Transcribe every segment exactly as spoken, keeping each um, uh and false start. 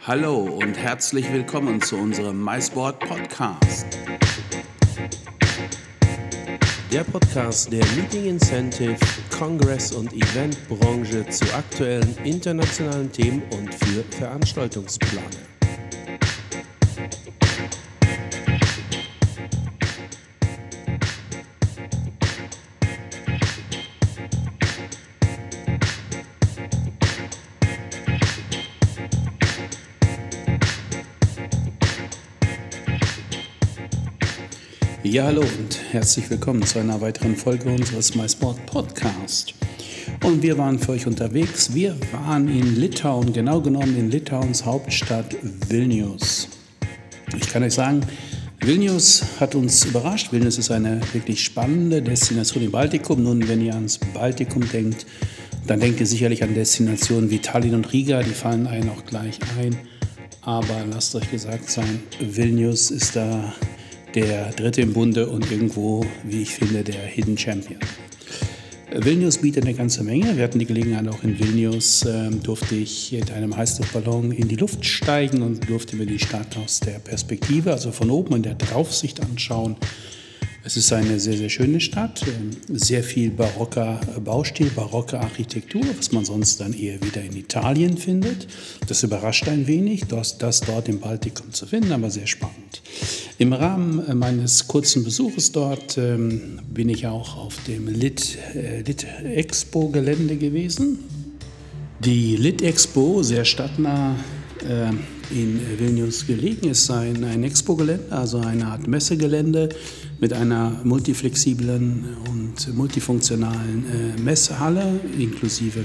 Hallo und herzlich willkommen zu unserem MySport Podcast. Der Podcast der Meeting Incentive, Kongress- und Eventbranche zu aktuellen internationalen Themen und für Veranstaltungsplaner. Ja, hallo und herzlich willkommen zu einer weiteren Folge unseres MySport Podcast. Und wir waren für euch unterwegs. Wir waren in Litauen, genau genommen in Litauens Hauptstadt Vilnius. Ich kann euch sagen, Vilnius hat uns überrascht. Vilnius ist eine wirklich spannende Destination im Baltikum. Nun, wenn ihr ans Baltikum denkt, dann denkt ihr sicherlich an Destinationen wie Tallinn und Riga. Die fallen einem auch gleich ein. Aber lasst euch gesagt sein, Vilnius ist da der dritte im Bunde und irgendwo, wie ich finde, der Hidden Champion. Vilnius bietet eine ganze Menge. Wir hatten die Gelegenheit, auch in Vilnius äh, durfte ich mit einem Heißluftballon in die Luft steigen und durfte mir die Stadt aus der Perspektive, also von oben in der Draufsicht anschauen. Es ist eine sehr, sehr schöne Stadt, sehr viel barocker Baustil, barocke Architektur, was man sonst dann eher wieder in Italien findet. Das überrascht ein wenig, das, das dort im Baltikum zu finden, aber sehr spannend. Im Rahmen meines kurzen Besuches dort ähm, bin ich auch auf dem Lit, äh, Lit-Expo-Gelände gewesen. Die Lit-Expo, sehr stadtnah äh, in Vilnius gelegen, ist ein, ein Expo-Gelände, also eine Art Messegelände mit einer multiflexiblen und multifunktionalen äh, Messehalle inklusive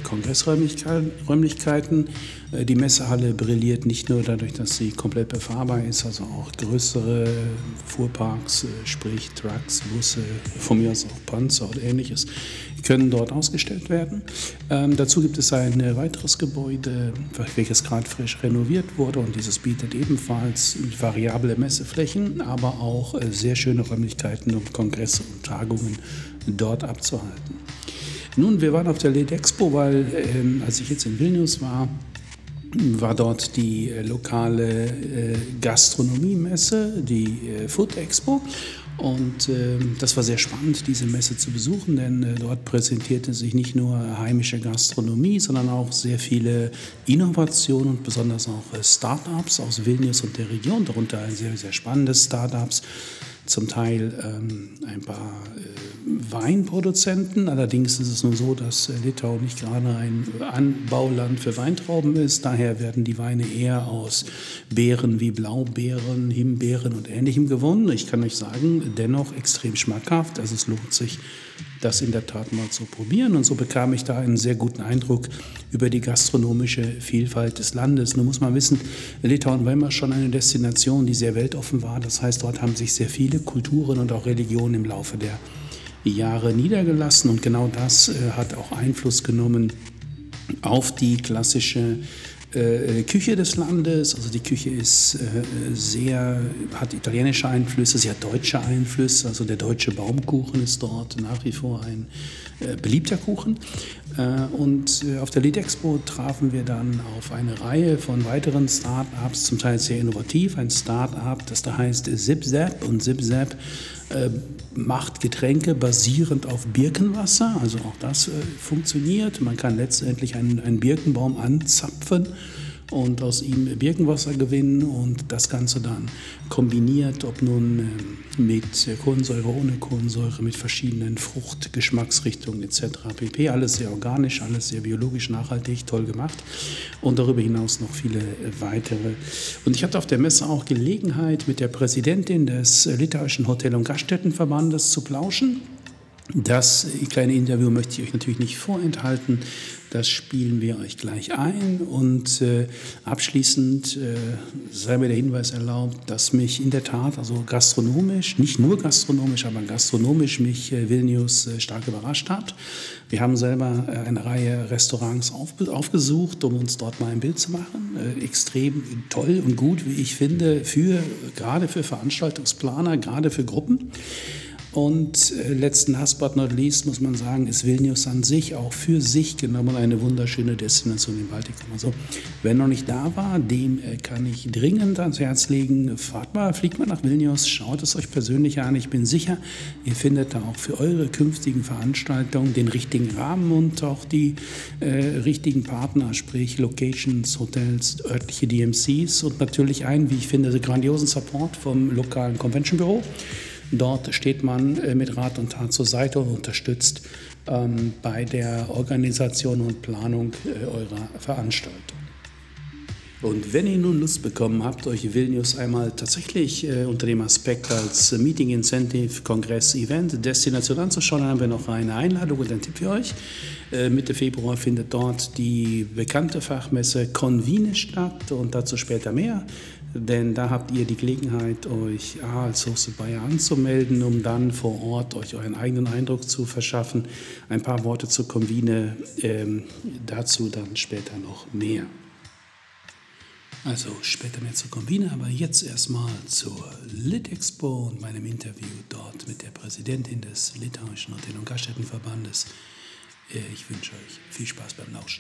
Kongressräumlichkeiten. Äh, die Messehalle brilliert nicht nur dadurch, dass sie komplett befahrbar ist, also auch größere Fuhrparks, äh, sprich Trucks, Busse, von mir aus auch Panzer oder ähnliches, können dort ausgestellt werden. Ähm, dazu gibt es ein äh, weiteres Gebäude, welches gerade frisch renoviert wurde, und dieses bietet ebenfalls variable Messeflächen, aber auch äh, sehr schöne Räumlichkeiten, um Kongresse und Tagungen dort abzuhalten. Nun, wir waren auf der Lit Expo, weil ähm, als ich jetzt in Vilnius war, war dort die äh, lokale äh, Gastronomiemesse, die äh, Food Expo. Und äh, das war sehr spannend, diese Messe zu besuchen, denn äh, dort präsentierte sich nicht nur heimische Gastronomie, sondern auch sehr viele Innovationen und besonders auch äh, Start-ups aus Vilnius und der Region, darunter sehr, sehr spannende Start-ups. Zum Teil ähm, ein paar äh, Weinproduzenten. Allerdings ist es nur so, dass äh, Litauen nicht gerade ein Anbauland für Weintrauben ist. Daher werden die Weine eher aus Beeren wie Blaubeeren, Himbeeren und Ähnlichem gewonnen. Ich kann euch sagen, dennoch extrem schmackhaft. Also es lohnt sich, das in der Tat mal zu probieren. Und so bekam ich da einen sehr guten Eindruck über die gastronomische Vielfalt des Landes. Nun muss man wissen, Litauen war immer schon eine Destination, die sehr weltoffen war. Das heißt, dort haben sich sehr viele Kulturen und auch Religionen im Laufe der Jahre niedergelassen. Und genau das äh, hat auch Einfluss genommen auf die klassische äh, Küche des Landes. Also die Küche ist äh, sehr, hat italienische Einflüsse, sie hat deutsche Einflüsse. Also der deutsche Baumkuchen ist dort nach wie vor ein äh, beliebter Kuchen. Äh, und äh, auf der Lit Expo trafen wir dann auf eine Reihe von weiteren Start-ups, zum Teil sehr innovativ. Ein Start-up, das da heißt ZipZap, und ZipZap äh, macht Getränke basierend auf Birkenwasser. Also auch das äh, funktioniert. Man kann letztendlich einen, einen Birkenbaum anzapfen und aus ihm Birkenwasser gewinnen und das Ganze dann kombiniert, ob nun äh, mit Kohlensäure, ohne Kohlensäure, mit verschiedenen Fruchtgeschmacksrichtungen et cetera pp. Alles sehr organisch, alles sehr biologisch nachhaltig, toll gemacht, und darüber hinaus noch viele weitere. Und ich hatte auf der Messe auch Gelegenheit, mit der Präsidentin des litauischen Hotel- und Gaststättenverbandes zu plauschen. Das kleine Interview möchte ich euch natürlich nicht vorenthalten. Das spielen wir euch gleich ein. Und äh, abschließend äh, sei mir der Hinweis erlaubt, dass mich in der Tat, also gastronomisch, nicht nur gastronomisch, aber gastronomisch mich äh, Vilnius äh, stark überrascht hat. Wir haben selber äh, eine Reihe Restaurants auf, aufgesucht, um uns dort mal ein Bild zu machen. Äh, extrem toll und gut, wie ich finde, für, gerade für Veranstaltungsplaner, gerade für Gruppen. Und äh, letzten last but not least muss man sagen, ist Vilnius an sich auch für sich genommen eine wunderschöne Destination im Baltikum. Also wer noch nicht da war, dem äh, kann ich dringend ans Herz legen, fahrt mal, fliegt mal nach Vilnius, schaut es euch persönlich an. Ich bin sicher, ihr findet da auch für eure künftigen Veranstaltungen den richtigen Rahmen und auch die äh, richtigen Partner, sprich Locations, Hotels, örtliche D M Cs und natürlich einen, wie ich finde, grandiosen Support vom lokalen Convention-Büro. Dort steht man äh, mit Rat und Tat zur Seite und unterstützt ähm, bei der Organisation und Planung äh, eurer Veranstaltung. Und wenn ihr nun Lust bekommen habt, euch Vilnius einmal tatsächlich äh, unter dem Aspekt als äh, Meeting Incentive, Kongress, Event, Destination anzuschauen, dann haben wir noch eine Einladung und einen Tipp für euch. Äh, Mitte Februar findet dort die bekannte Fachmesse Convine statt und dazu später mehr. Denn da habt ihr die Gelegenheit, euch A, als Hosted Buyer anzumelden, um dann vor Ort euch euren eigenen Eindruck zu verschaffen. Ein paar Worte zur Convine, ähm, dazu dann später noch mehr. Also später mehr zur Convine, aber jetzt erstmal zur Lit-Expo und meinem Interview dort mit der Präsidentin des Litauischen Hotel- und Gaststättenverbandes. Äh, ich wünsche euch viel Spaß beim Lauschen.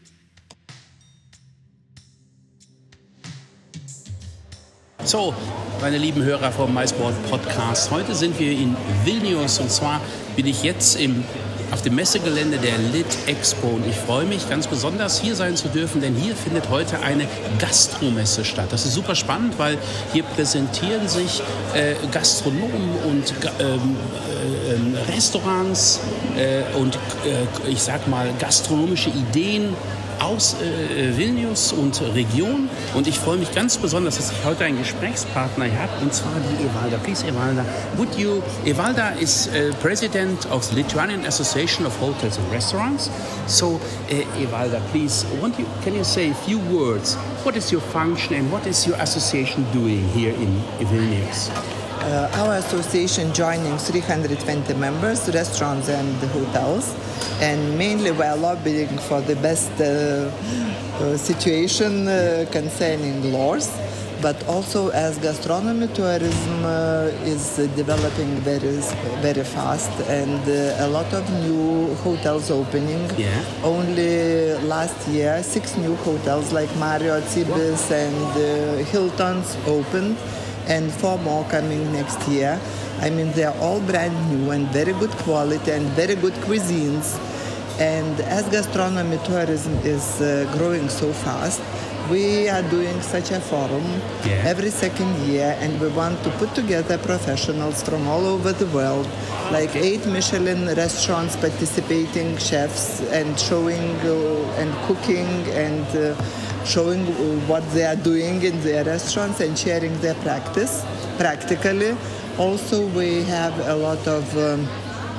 So, meine lieben Hörer vom MySport Podcast, heute sind wir in Vilnius und zwar bin ich jetzt im, auf dem Messegelände der Lit-Expo und ich freue mich ganz besonders, hier sein zu dürfen, denn hier findet heute eine Gastromesse statt. Das ist super spannend, weil hier präsentieren sich äh, Gastronomen und ähm, äh, Restaurants äh, und äh, ich sag mal gastronomische Ideen aus äh, Vilnius und Region und ich freue mich ganz besonders, dass ich heute einen Gesprächspartner habe und zwar die Evalda. Please, Evalda, would you, Evalda is uh, president of the Lithuanian Association of Hotels and Restaurants. So, uh, Evalda, please, want you, can you say a few words? What is your function and what is your association doing here in Vilnius? Uh, our association joining three hundred twenty members, restaurants and hotels, and mainly we are lobbying for the best uh, uh, situation uh, concerning laws, but also as gastronomy tourism uh, is uh, developing very very fast and uh, a lot of new hotels opening. Yeah. Only last year six new hotels like Marriott, Ibis and uh, Hilton's opened. And four more coming next year. I mean, they are all brand new and very good quality and very good cuisines. And as gastronomy tourism is uh, growing so fast, we are doing such a forum yeah. every second year, and we want to put together professionals from all over the world, like eight Michelin restaurants participating chefs and showing uh, and cooking and uh, showing what they are doing in their restaurants and sharing their practice practically. Also, we have a lot of um,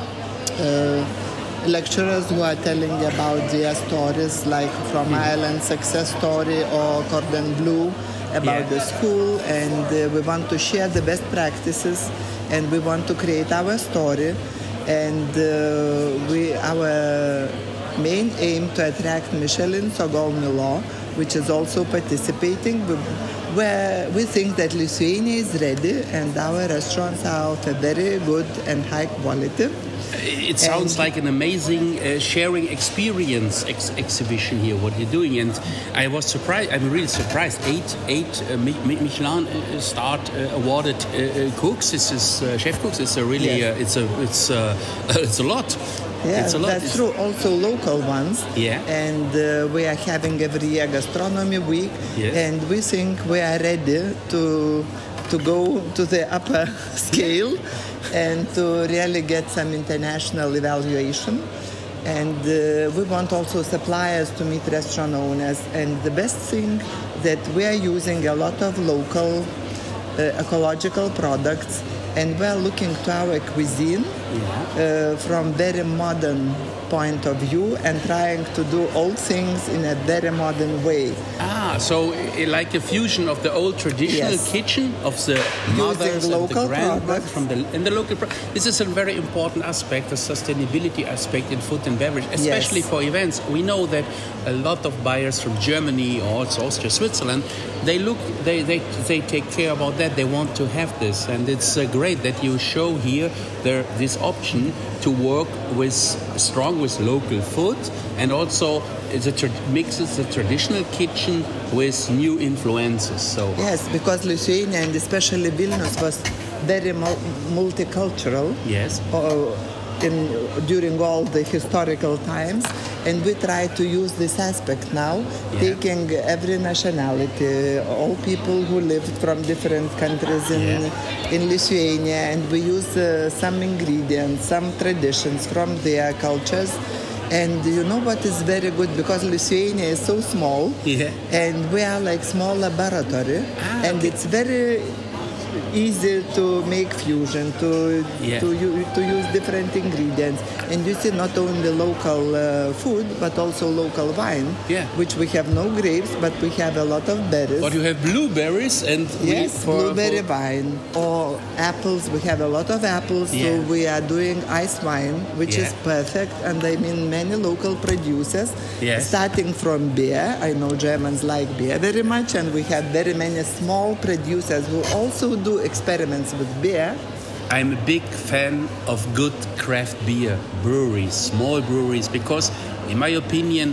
uh, lecturers who are telling about their stories, like from Ireland success story or Cordon Bleu about yeah. the school, and uh, we want to share the best practices, and we want to create our story, and uh, we our main aim to attract Michelin Sogol Milo, which is also participating, where we think that Lithuania is ready and our restaurants are of a very good and high quality. It sounds and like an amazing uh, sharing experience ex- exhibition here, what you're doing. And I was surprised, I'm really surprised, eight, eight uh, Michelin uh, starred uh, awarded uh, uh, cooks, this is uh, chef cooks, it's a really, yes. uh, it's, a, it's, uh, it's a lot. Yeah, it's a lot. That's it's... true. Also local ones. Yeah. And uh, we are having every year gastronomy week. Yes. And we think we are ready to to go to the upper scale and to really get some international evaluation. And uh, we want also suppliers to meet restaurant owners. And the best thing that we are using a lot of local uh, ecological products. And we're looking to our cuisine yeah. uh, from very modern point of view and trying to do all things in a very modern way. Ah, Ah, so uh, like a fusion of the old traditional Yes. kitchen of the mothers and the local grandmothers products. from the and the local. Pro- this is a very important aspect, the sustainability aspect in food and beverage, especially Yes. for events. We know that a lot of buyers from Germany or also Austria, Switzerland, they look, they they, they take care about that. They want to have this, and it's uh, great that you show here there this option to work with strong with local food and also it's a tra- mixes the traditional kitchen with new influences. So Yes, because Lithuania and especially Vilnius was very mul- multicultural. yes, uh, in during all the historical times, and we try to use this aspect now, Yeah. taking every nationality, all people who lived from different countries in Yeah. in Lithuania, and we use uh, some ingredients, some traditions from their cultures. And you know what is very good, because Lithuania is so small, Yeah. and we are like small laboratory, Ah, and okay. it's very easy to make fusion, to Yeah. to u- to use different ingredients, and you see not only local uh, food but also local wine, Yeah. which we have no grapes, but we have a lot of berries. but you have blueberries and we- Yes, for- blueberry for- wine or apples. We have a lot of apples, Yeah. so we are doing ice wine, which Yeah. is perfect. And I mean, many local producers, Yes. starting from beer. I know Germans like beer very much, and we have very many small producers who also do experiments with beer. I'm a big fan of good craft beer breweries, small breweries, because, in my opinion,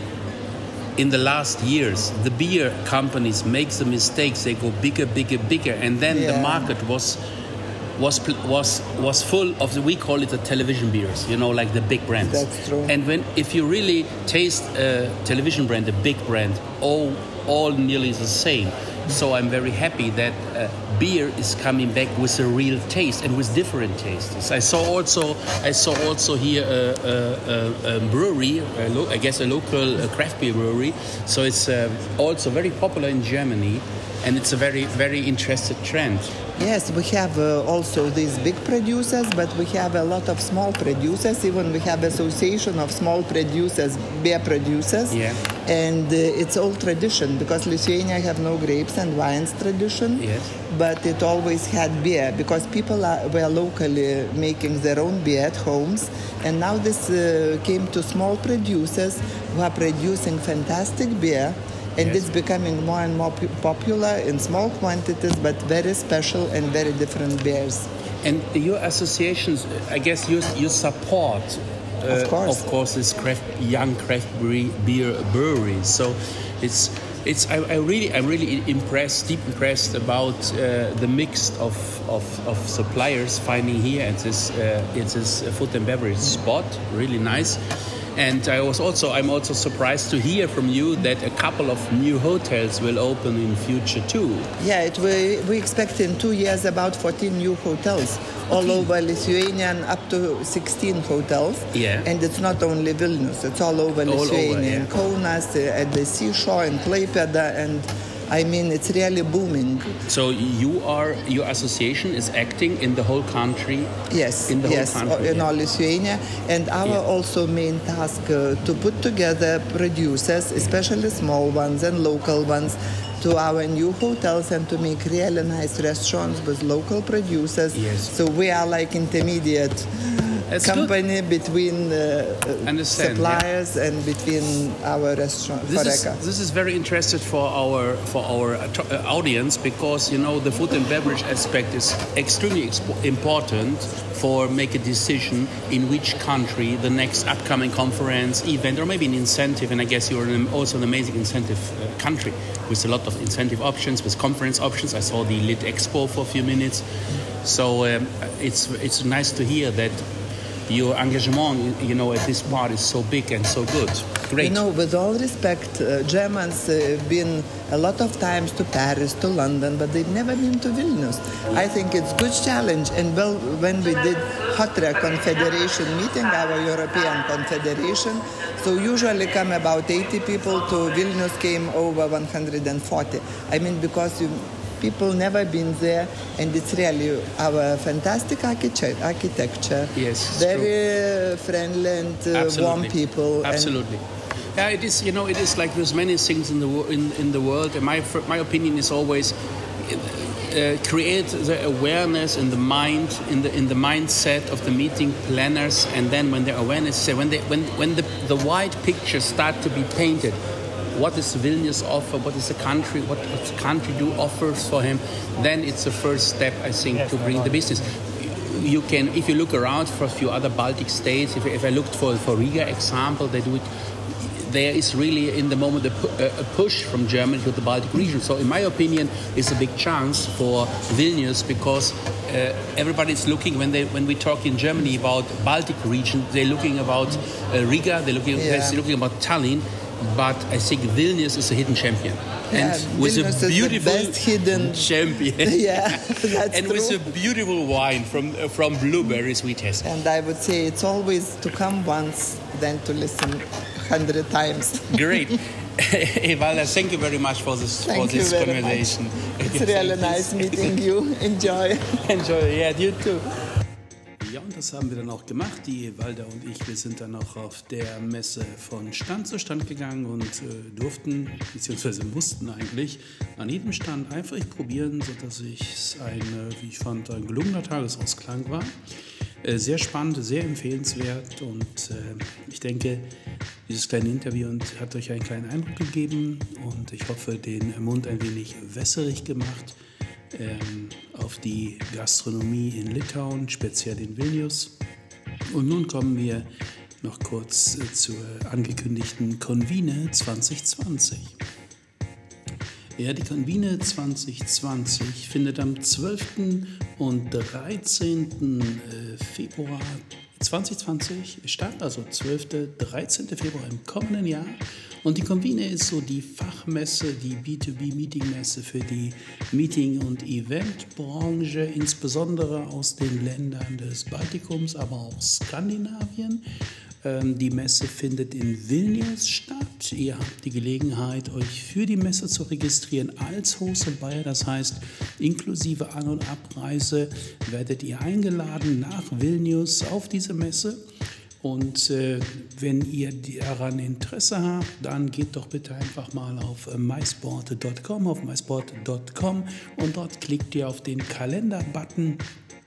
in the last years, the beer companies make the mistakes. They go bigger, bigger, bigger, and then the Yeah. market was was pl- was was full of the, we call it the television beers. You know, like the big brands. That's true. And when if you really taste a television brand, a big brand, all all nearly the same. So I'm very happy that uh, beer is coming back with a real taste and with different tastes. I saw also I saw also here a, a, a, a brewery, a lo- I guess a local uh, craft beer brewery. So it's uh, also very popular in Germany, and it's a very very interesting trend. Yes, we have uh, also these big producers, but we have a lot of small producers. Even we have association of small producers, beer producers. Yeah. And uh, it's all tradition, because Lithuania have no grapes and wines tradition. Yes. But it always had beer, because people are, were locally making their own beer at homes. And now this uh, came to small producers who are producing fantastic beer. And Yes. it's becoming more and more pu- popular in small quantities, but very special and very different beers. And your associations, I guess you you support, uh, Of course. of course, this craft, young craft bre- beer breweries. So it's it's I, I really I'm really impressed, deep impressed about uh, the mix of, of, of suppliers finding here at this uh, at this food and beverage spot. Really nice. And I was also I'm also surprised to hear from you that a couple of new hotels will open in future too. Yeah, it, we, we expect in two years about fourteen new hotels all over Lithuania, and up to sixteen hotels. Yeah. And it's not only Vilnius, it's all over All over, Lithuania, yeah. in Kaunas, uh, at the seashore, in Klaipėda, and I mean, it's really booming. So you are your association is acting in the whole country. Yes, In the whole yes, country, in yeah. all Lithuania, and our Yeah. also main task uh, to put together producers, especially small ones and local ones, to our new hotels and to make really nice restaurants with local producers. Yes. So we are like intermediate That's good. company between uh, uh, Understand, suppliers and between our restaurant. This is, Horeca. this is very interesting for our for our uh, to- uh, audience, because you know the food and beverage aspect is extremely expo- important for make a decision in which country the next upcoming conference, event, or maybe an incentive. And I guess you're an, also an amazing incentive uh, country with a lot of incentive options, with conference options. I saw the Lit Expo for a few minutes, so um, it's it's nice to hear that your engagement, you know, at this part is so big and so good. Great. You know, with all respect, uh, Germans uh, have been a lot of times to Paris, to London, but they've never been to Vilnius. I think it's good challenge. And well, when we did Hotre Confederation meeting, our European Confederation, so usually come about eighty people, to Vilnius came over one hundred forty. I mean, because you, people never been there, and it's really our fantastic architect- architecture. Yes, it's very friendly and uh, warm Absolutely. people. and Absolutely. Yeah, it is. You know, it is like there's many things in the wo- in in the world, and my my opinion is always uh, create the awareness in the mind, in the in the mindset of the meeting planners, and then when the awareness, when they when when the the wide picture start to be painted. What does Vilnius offer? What is the country? What does the country do offers for him? Then it's the first step, I think, yes, to bring the business. You can, if you look around for a few other Baltic states, if, if I looked for for Riga example, they do it. There is really in the moment a, a push from Germany to the Baltic region. So in my opinion, it's a big chance for Vilnius because uh, everybody's looking when they when we talk in Germany about Baltic region, they're looking about uh, Riga, they're looking yeah. they're looking about Tallinn. But I think Vilnius is a hidden champion, yeah, and with Vilnius a beautiful is the best hidden champion. Yeah, that's and true. with a beautiful wine from uh, from blueberries we taste. And I would say it's always to come once than to listen hundred times. Great, Evalda, thank you very much for this thank for this you very conversation. Much. It's really nice meeting you. Enjoy. Enjoy. Yeah, you too. Ja, und das haben wir dann auch gemacht, die Evalda und ich. Wir sind dann auch auf der Messe von Stand zu Stand gegangen und äh, durften, beziehungsweise mussten eigentlich an jedem Stand einfach probieren, sodass es ein, wie ich fand, ein gelungener Tagesausklang war. Äh, sehr spannend, sehr empfehlenswert und äh, ich denke, dieses kleine Interview hat euch einen kleinen Eindruck gegeben und ich hoffe, den Mund ein wenig wässerig gemacht. Ähm, auf die Gastronomie in Litauen, speziell in Vilnius. Und nun kommen wir noch kurz äh, zur angekündigten Convine zwanzig zwanzig. Ja, die Convine zwanzig zwanzig findet am zwölften und dreizehnten Februar zwanzig zwanzig statt, also zwölften und dreizehnten Februar im kommenden Jahr. Und die Convine ist so die Fachmesse, die B zwei B-Meeting-Messe für die Meeting- und Eventbranche, insbesondere aus den Ländern des Baltikums, aber auch Skandinavien. Ähm, die Messe findet in Vilnius statt. Ihr habt die Gelegenheit, euch für die Messe zu registrieren als Host und Buyer. Das heißt, inklusive An- und Abreise werdet ihr eingeladen nach Vilnius auf diese Messe. Und äh, wenn ihr daran Interesse habt, dann geht doch bitte einfach mal auf äh, mysport punkt com, auf mysport punkt com und dort klickt ihr auf den Kalender-Button.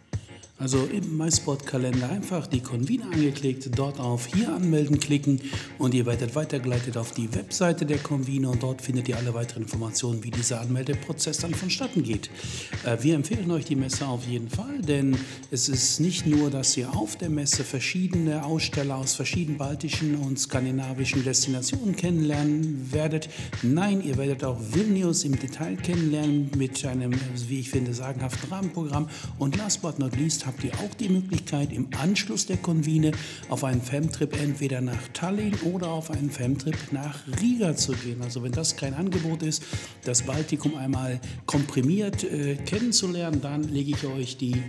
Also im MySport-Kalender einfach die Convine angeklickt, dort auf Hier anmelden klicken und ihr werdet weitergeleitet auf die Webseite der Convine und dort findet ihr alle weiteren Informationen, wie dieser Anmeldeprozess dann vonstatten geht. Äh, wir empfehlen euch die Messe auf jeden Fall, denn es ist nicht nur, dass ihr auf der Messe verschiedene Aussteller aus verschiedenen baltischen und skandinavischen Destinationen kennenlernen werdet. Nein, ihr werdet auch Vilnius im Detail kennenlernen mit einem, wie ich finde, sagenhaften Rahmenprogramm. Und last but not least habt ihr auch die Möglichkeit, im Anschluss der Convine auf einen Femtrip entweder nach Tallinn oder auf einen Femtrip nach Riga zu gehen. Also wenn das kein Angebot ist, das Baltikum einmal komprimiert äh, kennenzulernen, dann lege ich euch die äh,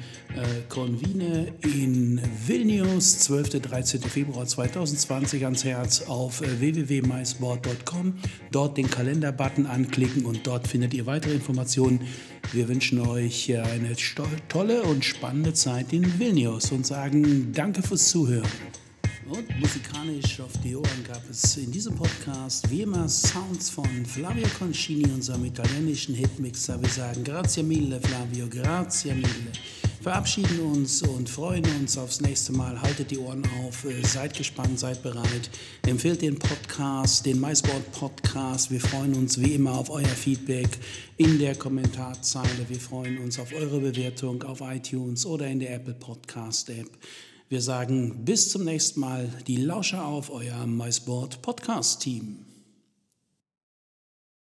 Convine in Vilnius, zwölften und dreizehnten Februar zweitausendzwanzig ans Herz auf äh, w w w punkt mysport punkt com. Dort den Kalender-Button anklicken und dort findet ihr weitere Informationen. Wir wünschen euch eine tolle und spannende Zeit in Vilnius und sagen Danke fürs Zuhören. Und musikalisch auf die Ohren gab es in diesem Podcast wie immer Sounds von Flavio Concini, unserem italienischen Hitmixer. Wir sagen Grazie mille Flavio, grazie mille. Verabschieden uns und freuen uns aufs nächste Mal. Haltet die Ohren auf, seid gespannt, seid bereit. Empfehlt den Podcast, den MySport Podcast. Wir freuen uns wie immer auf euer Feedback in der Kommentarzeile. Wir freuen uns auf eure Bewertung auf iTunes oder in der Apple Podcast App. Wir sagen bis zum nächsten Mal. Die Lauscher auf, euer MySport Podcast Team.